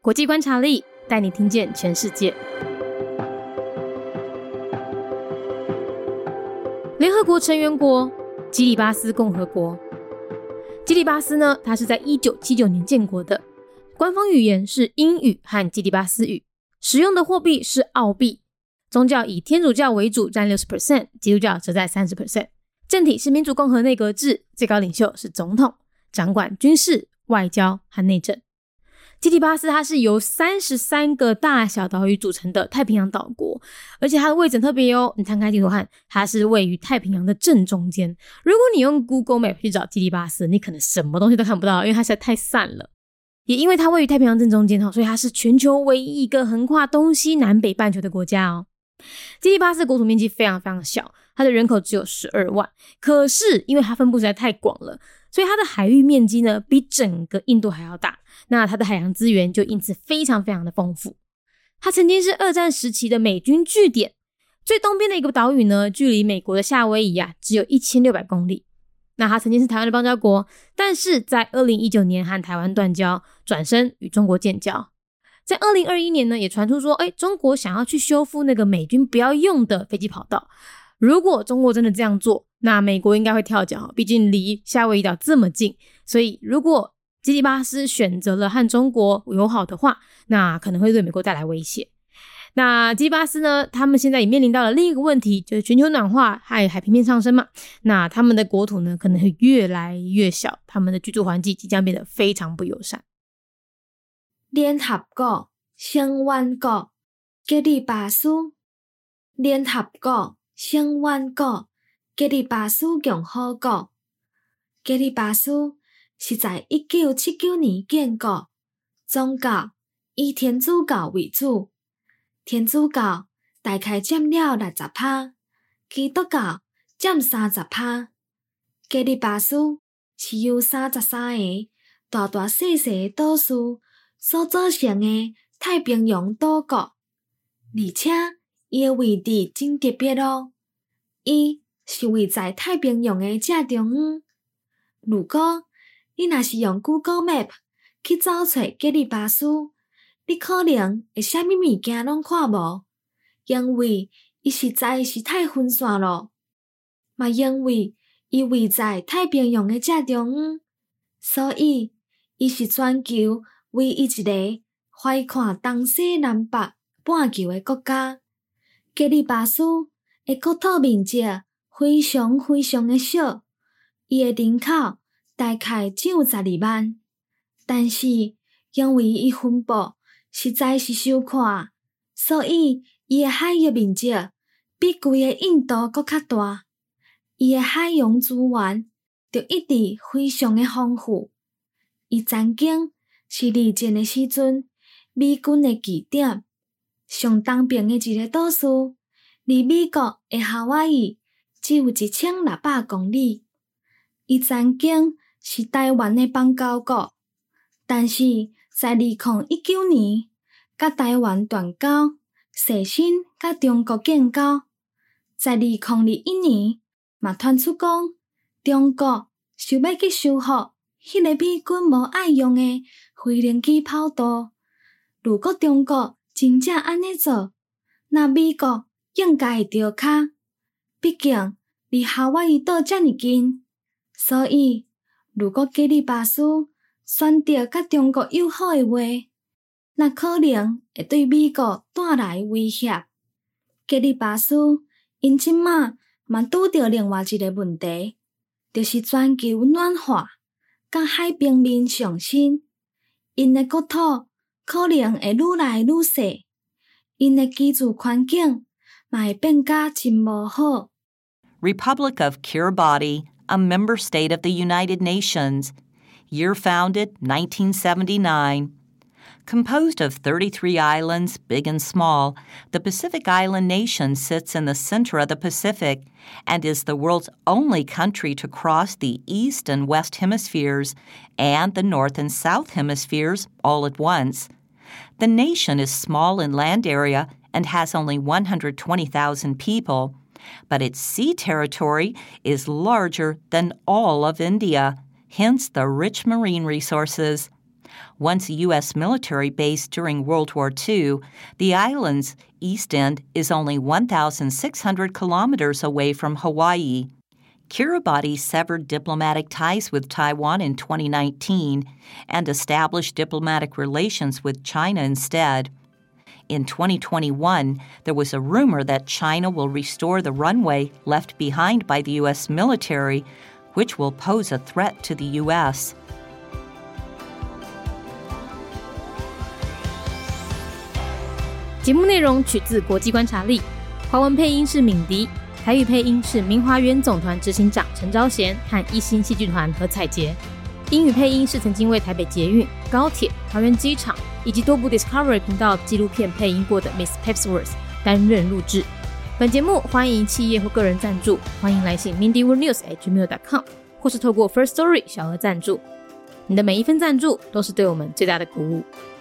国际观察力带你听见全世界。联合国成员国基里巴斯共和国。基里巴斯呢，它是在1979年建国的，官方语言是英语和基里巴斯语，使用的货币是澳币，宗教以天主教为主，占 60%， 基督教则在 30%， 政体是民主共和内阁制，最高领袖是总统，掌管军事、外交和内政。基里巴斯它是由33个大小岛屿组成的太平洋岛国，而且它的位置很特别哦，你摊开地图看，它是位于太平洋的正中间。如果你用 Google Map 去找基里巴斯，你可能什么东西都看不到，因为它实在太散了。也因为它位于太平洋正中间，所以它是全球唯一一个横跨东西南北半球的国家哦。基里巴斯国土面积非常非常小，它的人口只有12万，可是因为它分布实在太广了，所以它的海域面积呢比整个印度还要大，那它的海洋资源就因此非常非常的丰富。它曾经是二战时期的美军据点，最东边的一个岛屿呢，距离美国的夏威夷只有1600公里。那它曾经是台湾的邦交国，但是在2019年和台湾断交，转身与中国建交。在2021年呢，也传出说，中国想要去修复那个美军不要用的飞机跑道。如果中国真的这样做，那美国应该会跳脚，毕竟离夏威夷岛这么近。所以如果基里巴斯选择了和中国友好的话，那可能会对美国带来威胁。那基里巴斯呢，他们现在也面临到了另一个问题，就是全球暖化和海平面上升嘛。那他们的国土呢，可能会越来越小，他们的居住环境即将变得非常不友善。 联合国成员国基里巴斯。联合国成员国基里巴斯共和国。基里巴斯是在1979年建国，宗教以天主教为主，天主教大概占了 60%， 基督教占 30%。基里巴斯是由33个大大小小的岛屿所组成的太平洋岛国，而且伊的位置真特别哦，伊是位在太平洋的正中央。如果你若是用 Google Map 去找找基里巴斯，你可能会啥物物件拢看无，因为伊实在是太分散了，嘛因为伊位在太平洋的正中央，所以伊是全球唯一一个怀看东西南北半球的国家。基里巴斯的国土面积非常非常的小，伊的人口大概只有12万，但是因为伊分布实在是小看，所以伊的海域面积比规个印度搁较大，伊的海洋资源就一直非常的丰富。伊曾经是二战的时阵美军的据点，上东边的一个岛屿，离美国的夏威夷只有1600公里。伊曾经是台湾的邦交国，但是在2019年甲台湾断交，率先甲中国建交。在2021年嘛传出讲，中国想要去修复迄个美军无爱用的飞行机跑道。如果中国真正安尼做，那美国应该会着脚，毕竟离夏威夷岛这么近。所以如果基里巴斯选择甲中国友好的话，那可能会对美国带来威胁。基里巴斯因即马嘛拄着另外一个问题，就是全球暖化甲海平面上升，因的国土可能会愈来愈小，因的居住环境嘛会变甲真无好。 Republic of Kiribati, a member state of the United Nations. Year founded 1979. Composed of 33 islands, big and small, the Pacific Island nation sits in the center of the Pacific and is the world's only country to cross the East and West hemispheres and the North and South hemispheres all at once. The nation is small in land area and has only 120,000 people, but its sea territory is larger than all of India, hence the rich marine resources. Once a U.S. military base during World War II, the island's east end is only 1,600 kilometers away from Hawaii. Kiribati severed diplomatic ties with Taiwan in 2019 and established diplomatic relations with China instead. In 2021, there was a rumor that China will restore the runway left behind by the U.S. military, which will pose a threat to the U.S. 节目内容取自国际观察力，华文配音是敏迪，台语配音是明华园总团执行长陈昭贤和一心戏剧团何彩杰，英语配音是曾经为台北捷运、高铁、桃园机场以及多部 Discovery 频道纪录片配音过的 Miss Pepsworth 担任录制。本节目欢迎企业或个人赞助，欢迎来信 mindyworldnews@gmail.com 或是透过 First Story 小额赞助。你的每一份赞助都是对我们最大的鼓舞。